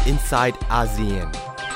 inside ASEAN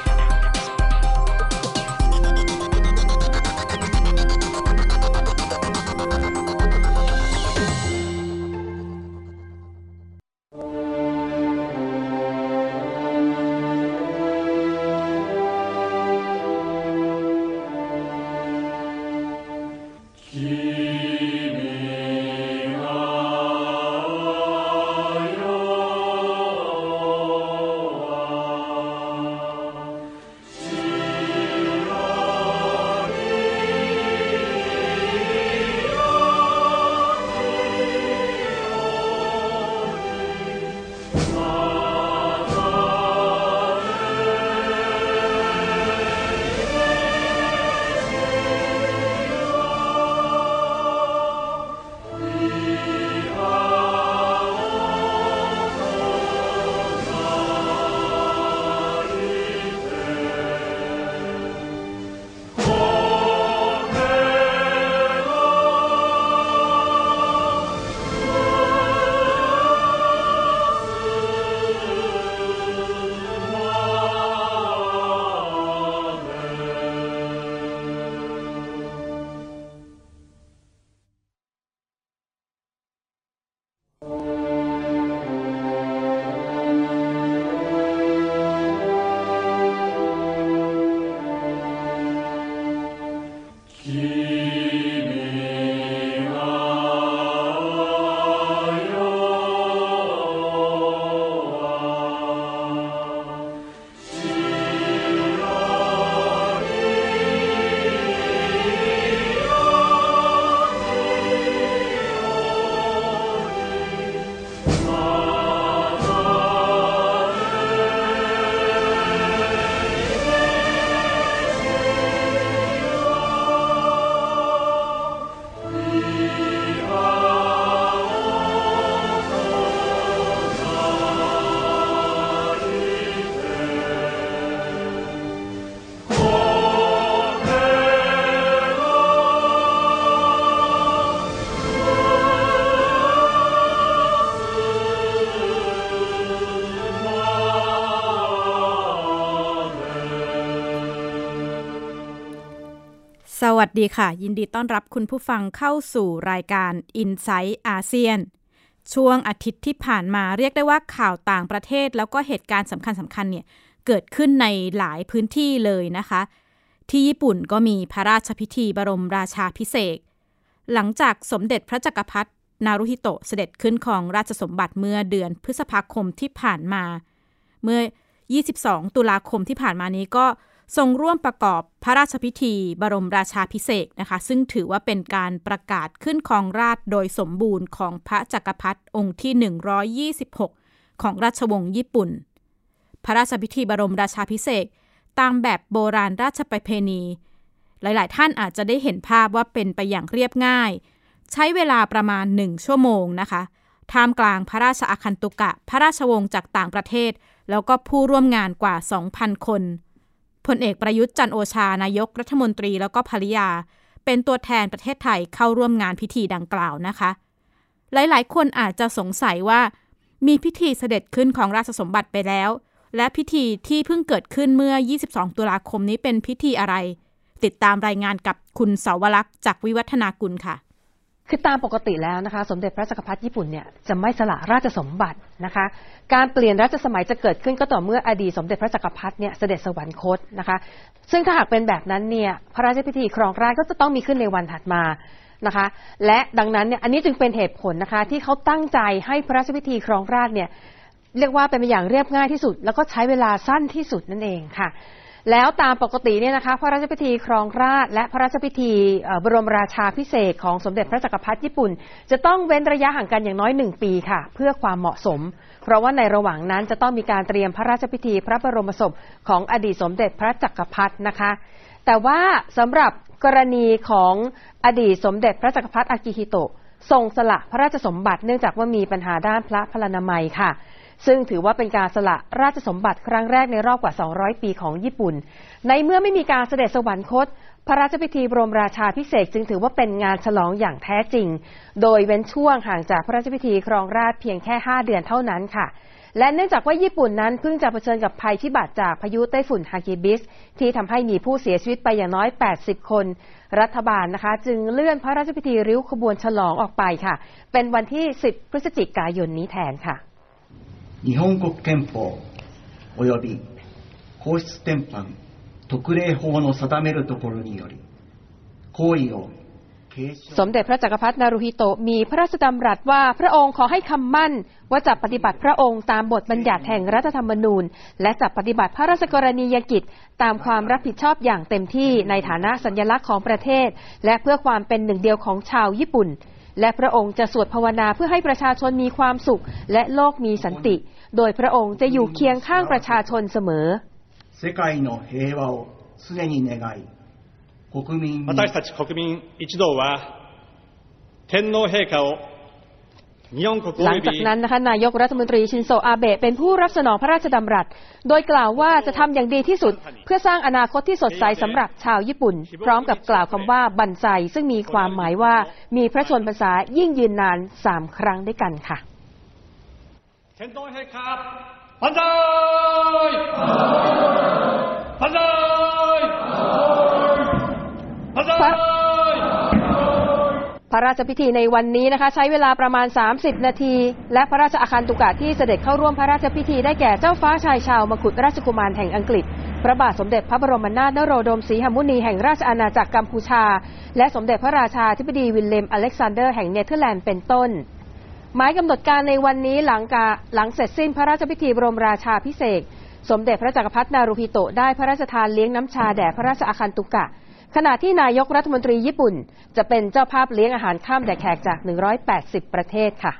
สวัสดีค่ะยินดีต้อนรับคุณผู้ฟังเข้าสู่รายการ Inside ASEAN ช่วงอาทิตย์ที่ผ่านมาเรียกได้ว่าข่าวต่างประเทศแล้วก็เหตุการณ์สำคัญเนี่ยเกิดขึ้นในหลายพื้นที่เลยนะคะที่ญี่ปุ่นก็มีพระราชพิธีบรมราชาภิเษกหลังจากสมเด็จพระจักรพรรดินารุฮิโตะเสด็จขึ้นครองราชสมบัติเมื่อเดือนพฤษภาคมที่ผ่านมาเมื่อ22ตุลาคมที่ผ่านมานี้ก็ทรงร่วมประกอบพระราชพิธีบรมราชาภิเษกนะคะซึ่งถือว่าเป็นการประกาศขึ้นครองราชย์โดยสมบูรณ์ของพระจักรพรรดิองค์ที่126ของราชวงศ์ญี่ปุ่นพระราชพิธีบรมราชาภิเษกตามแบบโบราณราชประเพณีหลายๆท่านอาจจะได้เห็นภาพว่าเป็นไปอย่างเรียบง่ายใช้เวลาประมาณ1ชั่วโมงนะคะท่ามกลางพระราชอาคันตุกะพระราชวงศ์จากต่างประเทศแล้วก็ผู้ร่วมงานกว่า 2,000 คนพลเอกประยุทธ์จันทร์โอชานายกรัฐมนตรีแล้วก็ภริยาเป็นตัวแทนประเทศไทยเข้าร่วมงานพิธีดังกล่าวนะคะหลายๆคนอาจจะสงสัยว่ามีพิธีเสด็จขึ้นของราชสมบัติไปแล้วและพิธีที่เพิ่งเกิดขึ้นเมื่อ22ตุลาคมนี้เป็นพิธีอะไรติดตามรายงานกับคุณเสาวลักษณ์จากวิวัฒนากุลค่ะคือตามปกติแล้วนะคะสมเด็จพระจักรพรรดิญี่ปุ่นเนี่ยจะไม่สละราชสมบัตินะคะการเปลี่ยนรัชสมัยจะเกิดขึ้นก็ต่อเมื่ออดีตสมเด็จพระจักรพรรดิเนี่ยเสด็จสวรรคตนะคะซึ่งถ้าหากเป็นแบบนั้นเนี่ยพระราชพิธีครองราชย์ก็จะต้องมีขึ้นในวันถัดมานะคะและดังนั้นเนี่ยอันนี้จึงเป็นเหตุผลนะคะที่เขาตั้งใจให้พระราชพิธีครองราชย์เนี่ยเรียกว่าเป็นไปอย่างเรียบง่ายที่สุดแล้วก็ใช้เวลาสั้นที่สุดนั่นเองค่ะแล้วตามปกติเนี่ยนะคะพระราชพิธีครองราชย์และพระราชพิธีบรมราชาภิเษกของสมเด็จพระจักรพรรดิญี่ปุ่นจะต้องเว้นระยะห่างกันอย่างน้อย1 ปีค่ะเพื่อความเหมาะสมเพราะว่าในระหว่างนั้นจะต้องมีการเตรียมพระราชพิธีพระบรมศพของอดีตสมเด็จพระจักรพรรดินะคะแต่ว่าสำหรับกรณีของอดีตสมเด็จพระจักรพรรดิอากิฮิโตะทรงสละพระราชสมบัติเนื่องจากว่ามีปัญหาด้านพระพลานามัยค่ะซึ่งถือว่าเป็นการสละราชสมบัติครั้งแรกในรอบกว่า200 ปีของญี่ปุ่นในเมื่อไม่มีการเสด็จสวรรคตพระราชพิธีบรมราชาภิเษกจึงถือว่าเป็นงานฉลองอย่างแท้จริงโดยเว้นช่วงห่างจากพระราชพิธีครองราชย์เพียงแค่5 เดือนเท่านั้นค่ะและเนื่องจากว่าญี่ปุ่นนั้นเพิ่งจะเผชิญกับภัยพิบัติจากพายุไต้ฝุ่นฮากิบิสที่ทำให้มีผู้เสียชีวิตไปอย่างน้อย80 คนรัฐบาลนะคะจึงเลื่อนพระราชพิธีริ้วขบวนฉลองออกไปค่ะเป็นวันที่10 พฤศจิกายนนี้แทนค่ะ日本国憲法および皇室典範特例法の定めるところにより行為をสมเด็จพระจักรพรรดินารูฮิโตะมีพระราชดำรัสว่าพระองค์ขอให้คำมั่นว่าจะปฏิบัติพระองค์ตามบทบัญญัติแห่งรัฐธรรมนูญและจะปฏิบัติพระราชกรณียกิจตามความรับผิดชอบอย่างเต็มที่ในฐานะสัญลักษณ์ของประเทศและเพื่อความเป็นหนึ่งเดียวของชาวญี่ปุ่นและพระองค์จะสวดภาวนาเพื่อให้ประชาชนมีความสุขและโลกมีสันติโดยพระองค์จะอยู่เคียงข้างประชาชนเสมอ世界の平和を常に願い私たち国民一同は天皇陛下をหลังจากนั้นนะคะนายกรัฐมนตรีชินโซอาเบะเป็นผู้รับสนองพระราชดำรัสโดยกล่าวว่าจะทำอย่างดีที่สุดเพื่อสร้างอนาคตที่สดใสสำหรับชาวญี่ปุ่นพร้อมกับกล่าวคำว่าบันไซซึ่งมีความหมายว่ามีพระชนพรรษายิ่งยืนนาน3 ครั้งด้วยกันค่ะ天皇陛下万歳万歳พระราชพิธีในวันนี้นะคะใช้เวลาประมาณ30 นาทีและพระราชอาคันตุกะที่เสด็จเข้าร่วมพระราชพิธีได้แก่เจ้าฟ้าชายชาวมกุฎราชกุมารแห่งอังกฤษพระบาทสมเด็จพระบรมนาถนโรดมศรีหมุนีแห่งราชอาณาจักรกัมพูชาและสมเด็จพระราชาธิบดีวิลเลมอเล็กซานเดอร์แห่งเนเธอร์แลนด์เป็นต้นหมายกำหนดการในวันนี้หลังเสร็จสิ้นพระราชพิธีบรมราชาภิเษกสมเด็จพระจักรพรรดินารูฮิโตะได้พระราชทานเลี้ยงน้ำชาแด่พระราชอาคันตุกะขณะที่นายกรัฐมนตรีญี่ปุ่นจะเป็นเจ้าภาพเลี้ยงอาหารค่ำแด่แขกจาก180 ประเทศค่ะ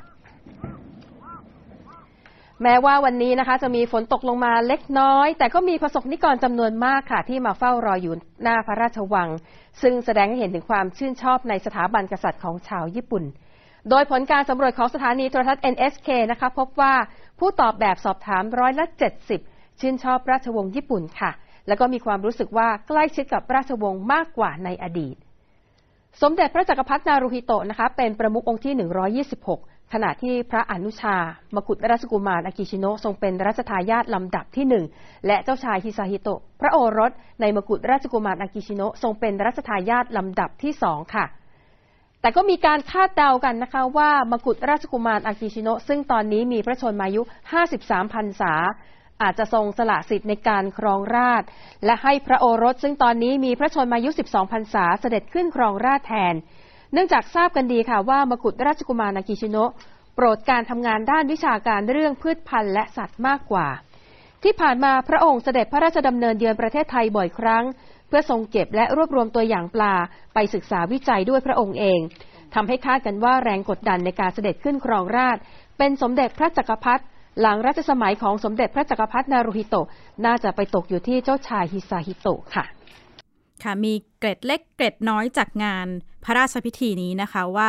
แม้ว่าวันนี้นะคะจะมีฝนตกลงมาเล็กน้อยแต่ก็มีประสบนิกรจำนวนมากค่ะที่มาเฝ้ารออยู่หน้าพระราชวังซึ่งแสดงให้เห็นถึงความชื่นชอบในสถาบันกษัตริย์ของชาวญี่ปุ่นโดยผลการสำรวจของสถานีโทรทัศน์ NHK นะคะพบว่าผู้ตอบแบบสอบถาม70%ชื่นชอบราชวงศ์ญี่ปุ่นค่ะแล้วก็มีความรู้สึกว่าใกล้ชิดกับราชวงศ์มากกว่าในอดีตสมเด็จพระจักรพรรดินารูฮิโตะนะคะเป็นประมุของค์ที่126ขณะที่พระอนุชามกุฎราชกุมารอากิชิโนะทรงเป็นรัชทายาทลำดับที่1และเจ้าชายฮิซาฮิโตะพระโอรสในมกุฎราชกุมารอากิชิโนะทรงเป็นรัชทายาทลำดับที่2ค่ะแต่ก็มีการคาดเดากันนะคะว่ามกุฎราชกุมารอากิชิโนะซึ่งตอนนี้มีพระชนมายุ53 พรรษาอาจจะทรงสละสิทธิ์ในการครองราชย์และให้พระโอรสซึ่งตอนนี้มีพระชนมายุ12 พรรษาเสด็จขึ้นครองราชย์แทนเนื่องจากทราบกันดีค่ะว่ามกุฎราชกุมารอากิชิโนะโปรดการทำงานด้านวิชาการเรื่องพืชพันธุ์และสัตว์มากกว่าที่ผ่านมาพระองค์เสด็จพระราชดำเนินเยือนประเทศไทยบ่อยครั้งเพื่อทรงเก็บและรวบรวมตัวอย่างปลาไปศึกษาวิจัยด้วยพระองค์เองทำให้คาดกันว่าแรงกดดันในการเสด็จขึ้นครองราชย์เป็นสมเด็จพระจักรพรรดิหลังรัชสมัยของสมเด็จพระจักรพรรดินารูฮิโตะน่าจะไปตกอยู่ที่เจ้าชายฮิซาฮิโตะค่ะค่ะมีเกร็ดเล็กเกร็ดน้อยจากงานพระราชพิธีนี้นะคะว่า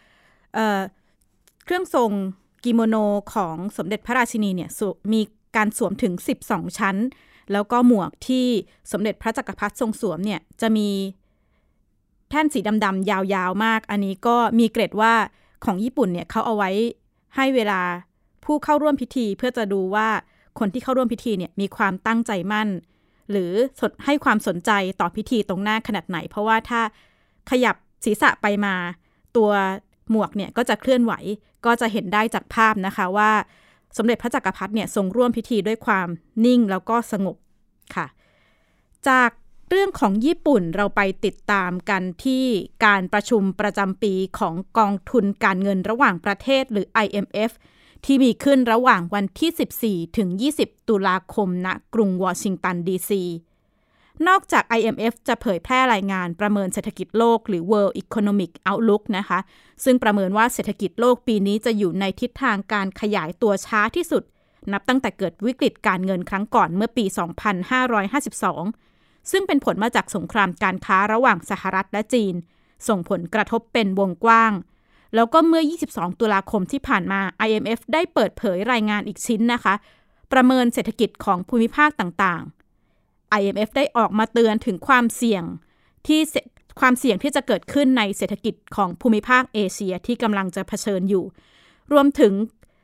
เครื่องทรงกิโมโนของสมเด็จพระราชินีเนี่ยมีการสวมถึง12 ชั้นแล้วก็หมวกที่สมเด็จพระจักรพรรดิทรงสวมเนี่ยจะมีแท่นสีดำๆยาวๆมากอันนี้ก็มีเกร็ดว่าของญี่ปุ่นเนี่ยเขาเอาไว้ให้เวลาผู้เข้าร่วมพิธีเพื่อจะดูว่าคนที่เข้าร่วมพิธีเนี่ยมีความตั้งใจมั่นหรือให้ความสนใจต่อพิธีตรงหน้าขนาดไหนเพราะว่าถ้าขยับศีรษะไปมาตัวหมวกเนี่ยก็จะเคลื่อนไหวก็จะเห็นได้จากภาพนะคะว่าสมเด็จพระจักรพรรดิเนี่ยทรงร่วมพิธีด้วยความนิ่งแล้วก็สงบค่ะจากเรื่องของญี่ปุ่นเราไปติดตามกันที่การประชุมประจำปีของกองทุนการเงินระหว่างประเทศหรือ IMF ที่มีขึ้นระหว่างวันที่14ถึง20ตุลาคมณกรุงวอชิงตันดีซีนอกจาก IMF จะเผยแพร่รายงานประเมินเศรษฐกิจโลกหรือ World Economic Outlook นะคะซึ่งประเมินว่าเศรษฐกิจโลกปีนี้จะอยู่ในทิศทางการขยายตัวช้าที่สุดนับตั้งแต่เกิดวิกฤตการเงินครั้งก่อนเมื่อปี 2552 ซึ่งเป็นผลมาจากสงครามการค้าระหว่างสหรัฐและจีนส่งผลกระทบเป็นวงกว้างแล้วก็เมื่อ22ตุลาคมที่ผ่านมา IMF ได้เปิดเผยรายงานอีกชิ้นนะคะประเมินเศรษฐกิจของภูมิภาคต่างๆ IMF ได้ออกมาเตือนถึงความเสี่ยงที่ความเสี่ยงที่จะเกิดขึ้นในเศรษฐกิจของภูมิภาคเอเชียที่กำลังจะเผชิญอยู่รวมถึง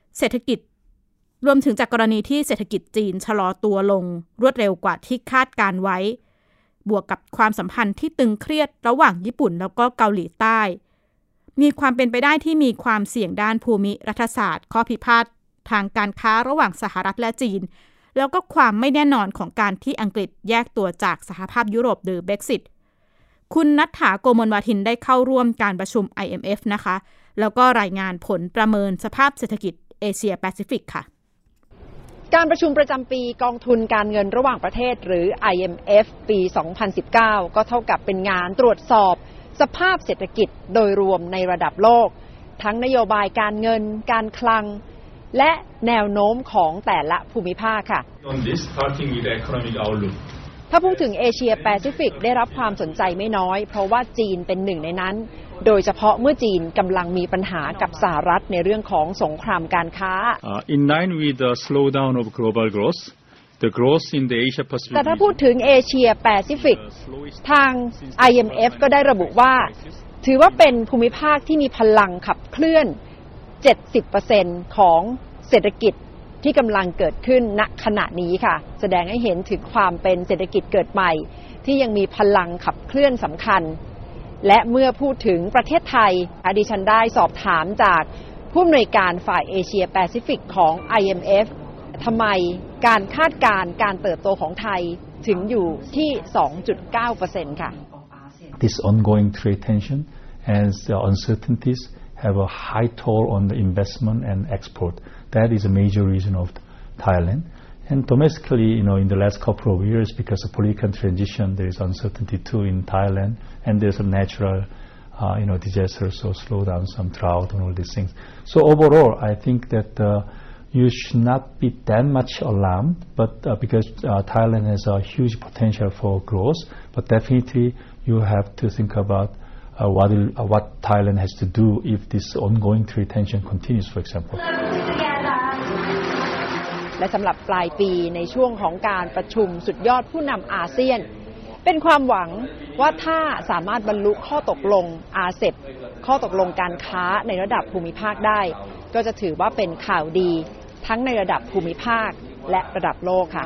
จากกรณีที่เศรษฐกิจจีนชะลอตัวลงรวดเร็วกว่าที่คาดการไว้บวกกับความสัมพันธ์ที่ตึงเครียดระหว่างญี่ปุ่นแล้วก็เกาหลีใต้มีความเป็นไปได้ที่มีความเสี่ยงด้านภูมิรัฐศาสตร์ข้อพิพาททางการค้าระหว่างสหรัฐและจีนแล้วก็ความไม่แน่นอนของการที่อังกฤษแยกตัวจากสหภาพยุโรปหรือ Brexit คุณณัฐฐา โกมลวาทินได้เข้าร่วมการประชุม IMF นะคะแล้วก็รายงานผลประเมินสภาพเศรษฐกิจเอเชียแปซิฟิกค่ะการประชุมประจำปีกองทุนการเงินระหว่างประเทศหรือ IMF ปี 2019 ก็เท่ากับเป็นงานตรวจสอบสภาพเศรษฐกิจโดยรวมในระดับโลกทั้งนโยบายการเงินการคลังและแนวโน้มของแต่ละภูมิภาคค่ะถ้าพูดถึงเอเชียแปซิฟิกได้รับความสนใจไม่น้อยเพราะว่าจีนเป็นหนึ่งในนั้นโดยเฉพาะเมื่อจีนกำลังมีปัญหากับสหรัฐในเรื่องของสงครามการค้า In line with the slowdown of global growth, the growth in the Asia Pacific แต่ถ้าพูดถึงเอเชียแปซิฟิกทาง IMF ก็ได้ระบุว่าถือว่าเป็นภูมิภาคที่มีพลังขับเคลื่อน 70% ของเศรษฐกิจที่กำลังเกิดขึ้นณขณะนี้ค่ะแสดงให้เห็นถึงความเป็นเศรษฐกิจเกิดใหม่ที่ยังมีพลังขับเคลื่อนสำคัญและเมื่อพูดถึงประเทศไทยดิฉันได้สอบถามจากผู้อำนวยการฝ่ายเอเชียแปซิฟิกของ IMF ทำไมการคาดการณ์การเติบโตของไทยถึงอยู่ที่ 2.9% ค่ะ This ongoing trade tension and the uncertainties have a high toll on the investment and export. That is a major reason of Thailand. And domestically, in the last couple of years, because of political transition, there is uncertainty too in Thailand, and there's a natural, disaster, so slow down some drought and all these things. So overall, I think that you should not be that much alarmed, but because Thailand has a huge potential for growth, but definitely you have to think about what Thailand has to do if this ongoing trade tension continues, for example. และสำหรับปลายปีในช่วงของการประชุมสุดยอดผู้นำอาเซียนเป็นความหวังว่าถ้าสามารถบรรลุข้อตกลงอาเซปข้อตกลงการค้าในระดับภูมิภาคได้ก็จะถือว่าเป็นข่าวดีทั้งในระดับภูมิภาคและระดับโลกค่ะ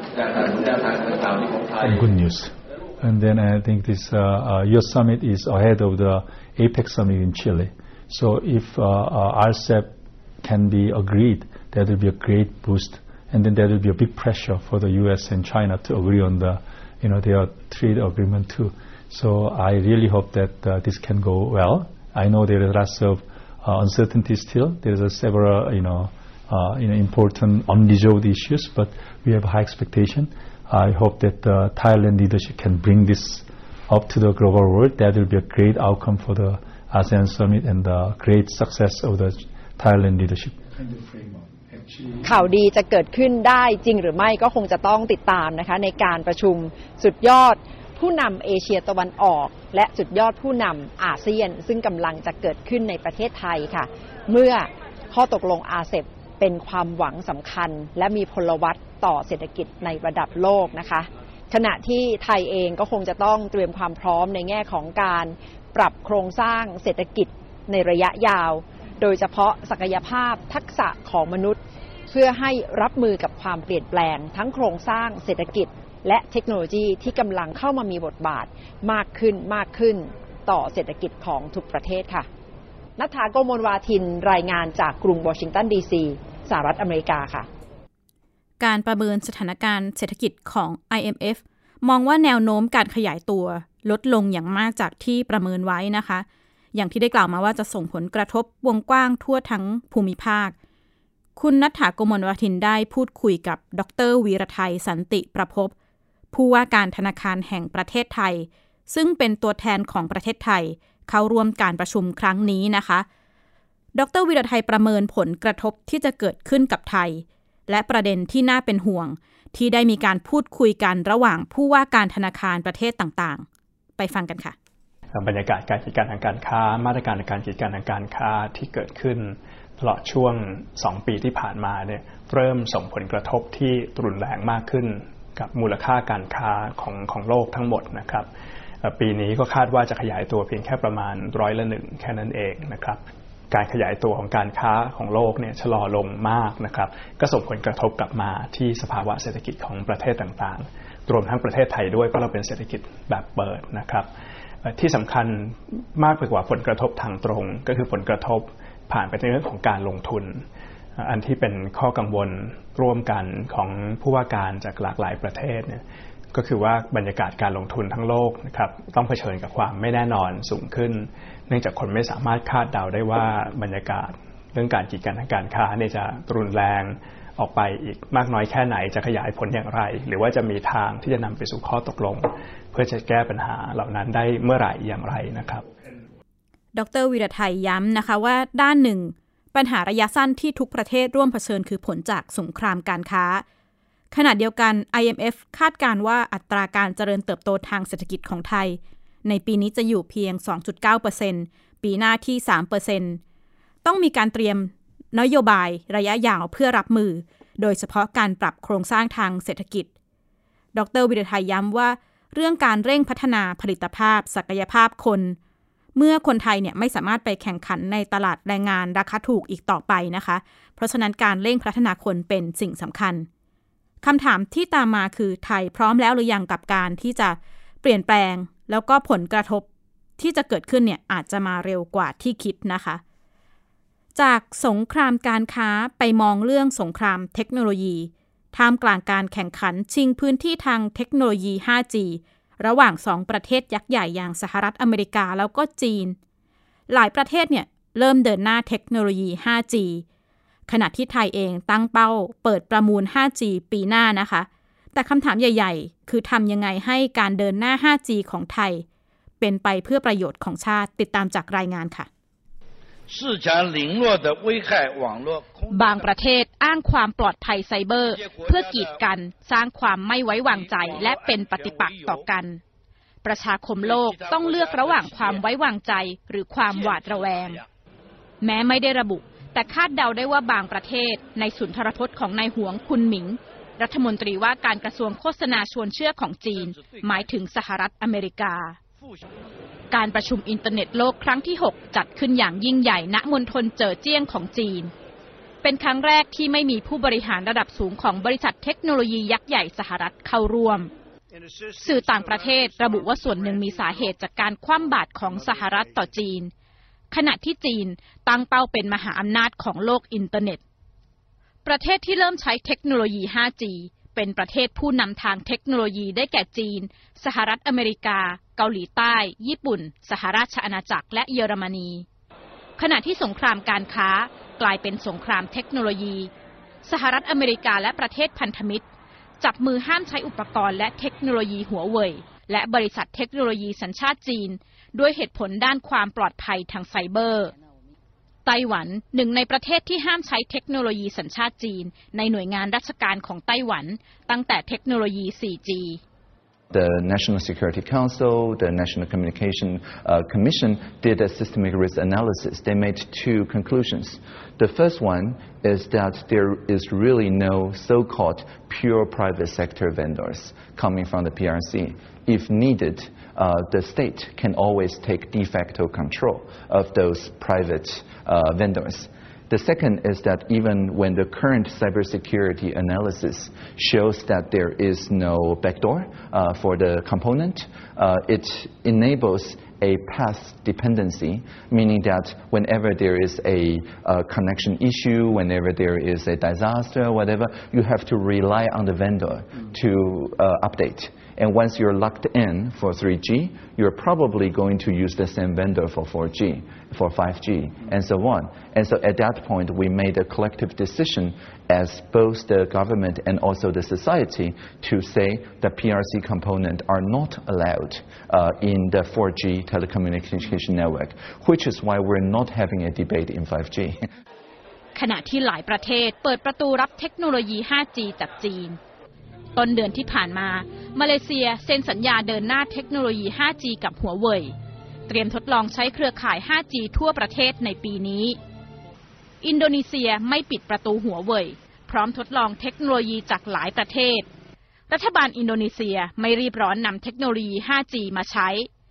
Good news. And then I think this your summit is ahead of the APEC summit in Chile. So if RCEP can be agreed, that will be a great boost. And then there will be a big pressure for the U.S. and China to agree on their trade agreement too. So I really hope that this can go well. I know there are lots of uncertainty still. There are several, important unresolved issues, but we have high expectation. I hope that the Thailand leadership can bring this up to the global world. That will be a great outcome for the ASEAN summit and the great success of the Thailand leadership. ข่าวดีจะเกิดขึ้นได้จริงหรือไม่ก็คงจะต้องติดตามนะคะในการประชุมสุดยอดผู้นำเอเชียตะวันออกและสุดยอดผู้นำอาเซียนซึ่งกำลังจะเกิดขึ้นในประเทศไทยค่ะเมื่อข้อตกลงอาเซปเป็นความหวังสำคัญและมีพลวัตต่อเศรษฐกิจในระดับโลกนะคะขณะที่ไทยเองก็คงจะต้องเตรียมความพร้อมในแง่ของการปรับโครงสร้างเศรษฐกิจในระยะยาวโดยเฉพาะศักยภาพทักษะของมนุษย์เพื่อให้รับมือกับความเปลี่ยนแปลงทั้งโครงสร้างเศรษฐกิจและเทคโนโลยีที่กำลังเข้ามามีบทบาทมากขึ้นต่อเศรษฐกิจของทุกประเทศค่ะณัฐฐา โกมลวาทินรายงานจากกรุงวอชิงตันดีซีสหรัฐอเมริกาค่ะการประเมินสถานการณ์เศรษฐกิจของ IMF มองว่าแนวโน้มการขยายตัวลดลงอย่างมากจากที่ประเมินไว้นะคะอย่างที่ได้กล่าวมาว่าจะส่งผลกระทบวงกว้างทั่วทั้งภูมิภาคคุณณัฐฐา โกมลวาทินได้พูดคุยกับดร.วีรไทยสันติประภพผู้ว่าการธนาคารแห่งประเทศไทยซึ่งเป็นตัวแทนของประเทศไทยเข้าร่วมการประชุมครั้งนี้นะคะดร.วีรไทยประเมินผลกระทบที่จะเกิดขึ้นกับไทยและประเด็นที่น่าเป็นห่วงที่ได้มีการพูดคุยกันระหว่างผู้ว่าการธนาคารประเทศต่างๆไปฟังกันค่ะบรรยากาศการจัดการทางการค้ามาตรการในการจัดการทางการค้าที่เกิดขึ้นตลอดช่วง2 ปีที่ผ่านมาเนี่ยเริ่มส่งผลกระทบที่รุนแรงมากขึ้นกับมูลค่าการค้าของโลกทั้งหมดนะครับปีนี้ก็คาดว่าจะขยายตัวเพียงแค่ประมาณ1%แค่นั้นเองนะครับการขยายตัวของการค้าของโลกเนี่ยชะลอลงมากนะครับก็ส่งผลกระทบกลับมาที่สภาวะเศรษฐกิจของประเทศต่างๆรวมทั้งประเทศไทยด้วยเพราะเราเป็นเศรษฐกิจแบบเปิดนะครับที่สำคัญมากไปกว่าผลกระทบทางตรงก็คือผลกระทบผ่านไปในเรื่องของการลงทุนอันที่เป็นข้อกังวลร่วมกันของผู้ว่าการจากหลากหลายประเทศเนี่ยก็คือว่าบรรยากาศการลงทุนทั้งโลกนะครับต้องเผชิญกับความไม่แน่นอนสูงขึ้นเนื่องจากคนไม่สามารถคาดเดาได้ว่าบรรยากาศเรื่องการกีดกันทางการค้าเนี่ยจะรุนแรงออกไปอีกมากน้อยแค่ไหนจะขยายผลอย่างไรหรือว่าจะมีทางที่จะนำไปสู่ข้อตกลงเพื่อจะแก้ปัญหาเหล่านั้นได้เมื่อไหร่อย่างไรนะครับดร.วีรไทยย้ำนะคะว่าด้านหนึ่งปัญหาระยะสั้นที่ทุกประเทศร่วมเผชิญคือผลจากสงครามการค้าขณะเดียวกัน IMF คาดการณ์ว่าอัตราการเจริญเติบโตทางเศรษฐกิจของไทยในปีนี้จะอยู่เพียง 2.9% ปีหน้าที่ 3% ต้องมีการเตรียมนโยบายระยะยาวเพื่อรับมือโดยเฉพาะการปรับโครงสร้างทางเศรษฐกิจดร.วีรไทยย้ำว่าเรื่องการเร่งพัฒนาผลิตภาพศักยภาพคนเมื่อคนไทยเนี่ยไม่สามารถไปแข่งขันในตลาดแรงงานราคาถูกอีกต่อไปนะคะเพราะฉะนั้นการเร่งพัฒนาคนเป็นสิ่งสำคัญคำถามที่ตามมาคือไทยพร้อมแล้วหรือยังกับการที่จะเปลี่ยนแปลงแล้วก็ผลกระทบที่จะเกิดขึ้นเนี่ยอาจจะมาเร็วกว่าที่คิดนะคะจากสงครามการค้าไปมองเรื่องสงครามเทคโนโลยีท่ามกลางการแข่งขันชิงพื้นที่ทางเทคโนโลยี 5G ระหว่าง2ประเทศยักษ์ใหญ่อย่างสหรัฐอเมริกาแล้วก็จีนหลายประเทศเนี่ยเริ่มเดินหน้าเทคโนโลยี 5G ขณะที่ไทยเองตั้งเป้าเปิดประมูล 5G ปีหน้านะคะแต่คำถามใหญ่ๆคือทำยังไงให้การเดินหน้า 5G ของไทยเป็นไปเพื่อประโยชน์ของชาติติดตามจากรายงานค่ะบางประเทศอ้างความปลอดภัยไซเบอร์เพื่อกีดกันสร้างความไม่ไว้วางใจและเป็นปฏิปักษ์ต่อกันประชาคมโลกต้องเลือกระหว่างความไว้วางใจหรือความหวาดระแวงแม้ไม่ได้ระบุแต่คาดเดาได้ว่าบางประเทศในสุนทรพจน์ของนายหวงคุนหมิงรัฐมนตรีว่าการกระทรวงโฆษณาชวนเชื่อของจีนหมายถึงสหรัฐอเมริกาการประชุมอินเทอร์เน็ตโลกครั้งที่ 6 จัดขึ้นอย่างยิ่งใหญ่ณมณฑลเจ๋อเจี้ยงของจีนเป็นครั้งแรกที่ไม่มีผู้บริหารระดับสูงของบริษัทเทคโนโลยียักษ์ใหญ่สหรัฐเข้าร่วมสื่อต่างประเทศระบุว่าส่วนหนึ่งมีสาเหตุจากการคว่ำบาตรของสหรัฐต่อจีนขณะที่จีนตั้งเป้าเป็นมหาอำนาจของโลกอินเทอร์เน็ตประเทศที่เริ่มใช้เทคโนโลยี 5G เป็นประเทศผู้นำทางเทคโนโลยีได้แก่จีนสหรัฐอเมริกาเกาหลีใต้ญี่ปุ่นสหราชอาณาจักรและเยอรมนีขณะที่สงครามการค้ากลายเป็นสงครามเทคโนโลยีสหรัฐอเมริกาและประเทศพันธมิตรจับมือห้ามใช้อุปกรณ์และเทคโนโลยีหัวเว่ยและบริษัทเทคโนโลยีสัญชาติจีนด้วยเหตุผลด้านความปลอดภัยทางไซเบอร์ไต้หวันหนึ่งในประเทศที่ห้ามใช้เทคโนโลยีสัญชาติจีนในหน่วยงานราชการของไต้หวันตั้งแต่เทคโนโลยี 4G The National Security Council, the National Communication Commission did a systemic risk analysis. They made two conclusions. The first one is that there is really no so-called pure private sector vendors coming from the PRC. If needed, the state can always take de facto control of those private vendors.The second is that even when the current cybersecurity analysis shows that there is no backdoor for the component, it enables a path dependency, meaning that whenever there is a connection issue, whenever there is a disaster, whatever, you have to rely on the vendor to update.And once you're locked in for 3G, you're probably going to use the same vendor for 4G, for 5G, and so on. And so at that point, we made a collective decision as both the government and also the society to say the PRC component are not allowed in the 4G telecommunication network, which is why we're not having a debate in 5G. ขณะที่หลายประเทศเปิดประตูรับเทคโนโลยี 5G จากจีนต้นเดือนที่ผ่านมามาเลเซียเซ็นสัญญาเดินหน้าเทคโนโลยี 5G กับหัวเว่ยเตรียมทดลองใช้เครือข่าย 5G ทั่วประเทศในปีนี้อินโดนีเซียไม่ปิดประตูหัวเว่ยพร้อมทดลองเทคโนโลยีจากหลายประเทศรัฐบาลอินโดนีเซียไม่รีบร้อนนำเทคโนโลยี 5G มาใช้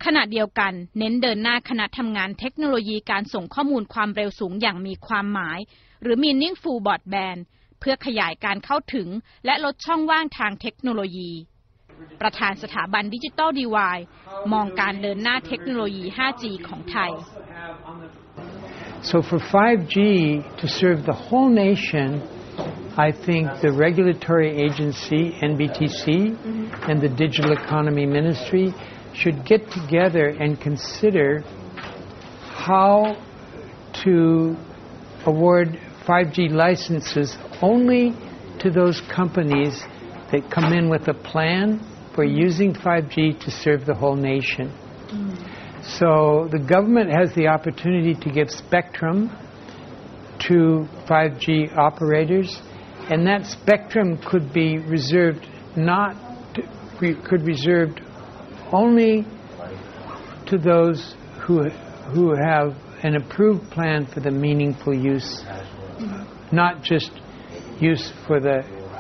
ขณะเดียวกันเน้นเดินหน้าคณะทำงานเทคโนโลยีการส่งข้อมูลความเร็วสูงอย่างมีความหมายหรือ Meaningful Broadband เพื่อขยายการเข้าถึงและลดช่องว่างทางเทคโนโลยีประธานสถาบันดิจิทัลดีไวด์มองการเดินหน้าเทคโนโลยี 5G ของไทย So for 5G to serve the whole nation, I think the regulatory agency, NBTC, and the Digital Economy Ministry should get together and consider how to award 5G licenses only to those companies that come in with a plan for using 5G to serve the whole nation. So the government has the opportunity to give spectrum to 5G operators, and that spectrum could be reserved only to those who have an approved plan for the meaningful use, not just use for the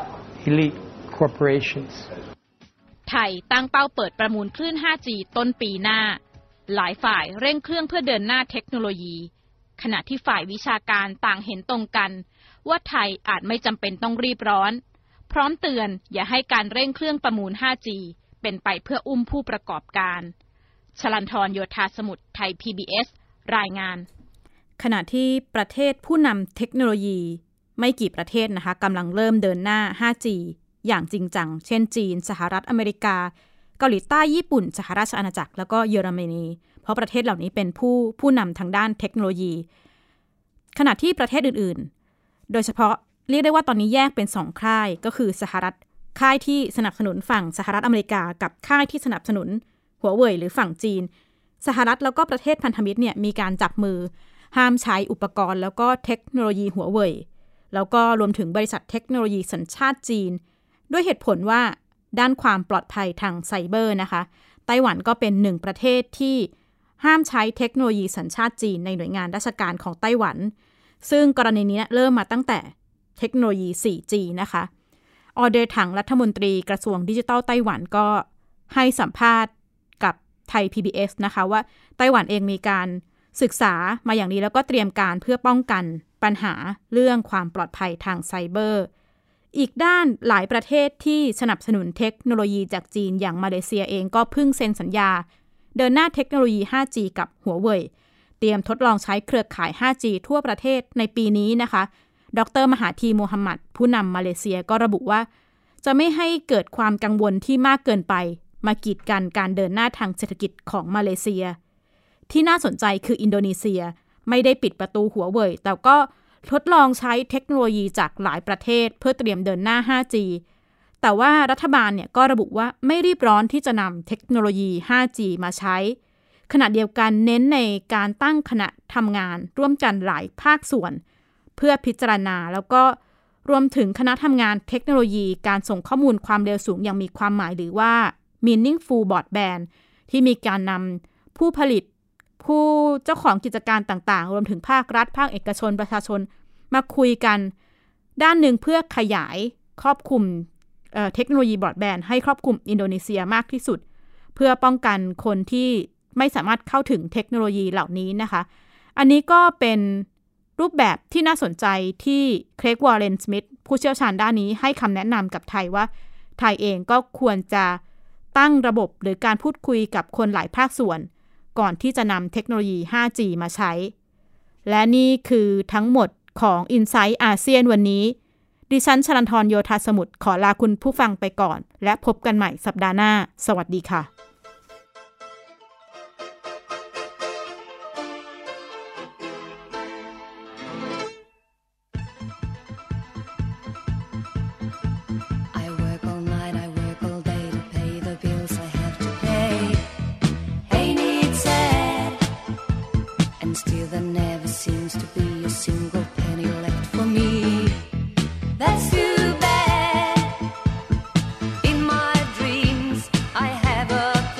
elite corporations. ไทยตั้งเป้าเปิดประมูลคลื่น 5G ต้นปีหน้าหลายฝ่ายเร่งเครื่องเพื่อเดินหน้าเทคโนโลยีขณะที่ฝ่ายวิชาการต่างเห็นตรงกันว่าไทยอาจไม่จำเป็นต้องรีบร้อนพร้อมเตือนอย่าให้การเร่งเครื่องประมูล 5G เป็นไปเพื่ออุ้มผู้ประกอบการชลันทร โยธาสมุทรไทย PBS รายงานขณะที่ประเทศผู้นำเทคโนโลยีไม่กี่ประเทศนะคะกำลังเริ่มเดินหน้า 5G อย่างจริงจังเช่นจีนสหรัฐอเมริกาเกาหลีใต้ญี่ปุ่นสหราชอาณาจักรแล้วก็เยอรมนีเพราะประเทศเหล่านี้เป็นผู้นำทางด้านเทคโนโลยีขณะที่ประเทศอื่นๆโดยเฉพาะเรียกได้ว่าตอนนี้แยกเป็น2ค่ายก็คือสหรัฐค่ายที่สนับสนุนฝั่งสหรัฐอเมริกากับค่ายที่สนับสนุนหัวเว่ยหรือฝั่งจีนสหรัฐแล้วก็ประเทศพันธมิตรเนี่ยมีการจับมือห้ามใช้อุปกรณ์แล้วก็เทคโนโลยีหัวเว่ยแล้วก็รวมถึงบริษัทเทคโนโลยีสัญชาติจีนด้วยเหตุผลว่าด้านความปลอดภัยทางไซเบอร์นะคะไต้หวันก็เป็น1ประเทศที่ห้ามใช้เทคโนโลยีสัญชาติจีนในหน่วยงานราชการของไต้หวันซึ่งกรณีนี้เริ่มมาตั้งแต่เทคโนโลยี 4G นะคะออเดอร์ถังรัฐมนตรีกระทรวงดิจิทัลไต้หวันก็ให้สัมภาษณ์กับไทย PBS นะคะว่าไต้หวันเองมีการศึกษามาอย่างนี้แล้วก็เตรียมการเพื่อป้องกันปัญหาเรื่องความปลอดภัยทางไซเบอร์อีกด้านหลายประเทศที่สนับสนุนเทคโนโลยีจากจีนอย่างมาเลเซียเองก็เพิ่งเซ็นสัญญาเดินหน้าเทคโนโลยี 5G กับหัวเว่ยเตรียมทดลองใช้เครือข่าย 5G ทั่วประเทศในปีนี้นะคะดร.มหาธีโมฮัมหมัดผู้นำมาเลเซียก็ระบุว่าจะไม่ให้เกิดความกังวลที่มากเกินไปมากีดกันการเดินหน้าทางเศรษฐกิจของมาเลเซียที่น่าสนใจคืออินโดนีเซียไม่ได้ปิดประตูหัวเว่ยแต่ก็ทดลองใช้เทคโนโลยีจากหลายประเทศเพื่อเตรียมเดินหน้า 5G แต่ว่ารัฐบาลเนี่ยก็ระบุว่าไม่รีบร้อนที่จะนำเทคโนโลยี 5G มาใช้ขณะเดียวกันเน้นในการตั้งคณะทำงานร่วมกันหลายภาคส่วนเพื่อพิจารณาแล้วก็รวมถึงคณะทำงานเทคโนโลยีการส่งข้อมูลความเร็วสูงอย่างมีความหมายหรือว่า Meaningful Broadband ที่มีการนำผู้ผลิตผู้เจ้าของกิจการต่างๆรวมถึงภาครัฐภาคเอกชนประชาชนมาคุยกันด้านหนึ่งเพื่อขยายครอบคลุมเทคโนโลยีบรอดแบนด์ให้ครอบคลุมอินโดนีเซียมากที่สุดเพื่อป้องกันคนที่ไม่สามารถเข้าถึงเทคโนโลยีเหล่านี้นะคะอันนี้ก็เป็นรูปแบบที่น่าสนใจที่เครก วอร์เรน สมิธผู้เชี่ยวชาญด้านนี้ให้คำแนะนำกับไทยว่าไทยเองก็ควรจะตั้งระบบหรือการพูดคุยกับคนหลายภาคส่วนก่อนที่จะนำเทคโนโลยี 5G มาใช้และนี่คือทั้งหมดของ Insight อาเซียนวันนี้ดิฉันชลันทร โยธาสมุทรขอลาคุณผู้ฟังไปก่อนและพบกันใหม่สัปดาห์หน้าสวัสดีค่ะ That's too bad. In my dreams, I have a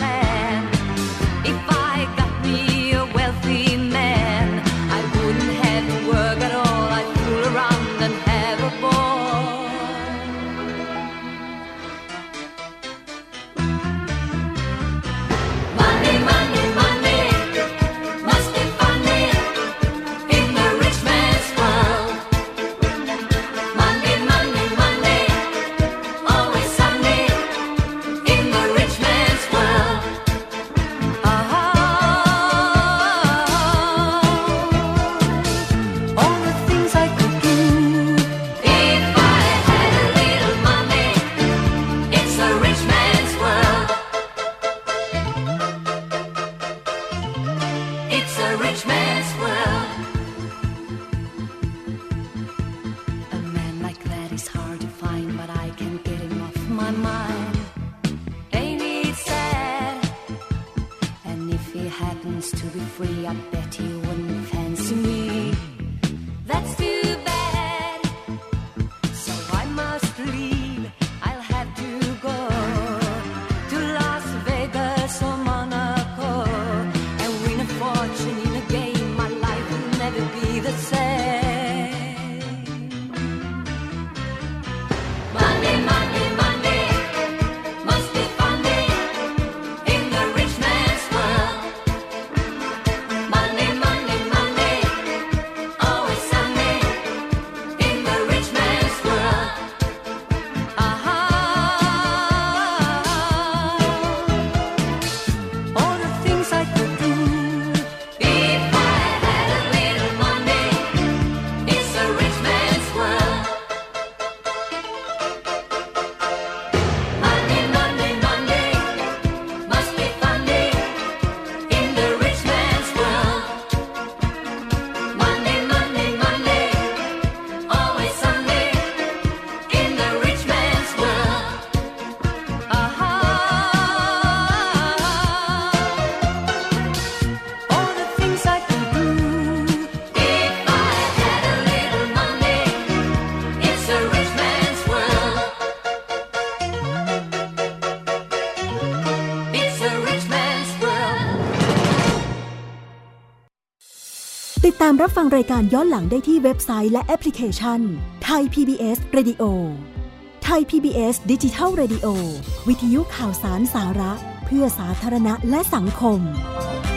ติดตามรับฟังรายการย้อนหลังได้ที่เว็บไซต์และแอปพลิเคชัน Thai PBS Radio Thai PBS Digital Radio วิทยุข่าวสารสาระเพื่อสาธารณะและสังคม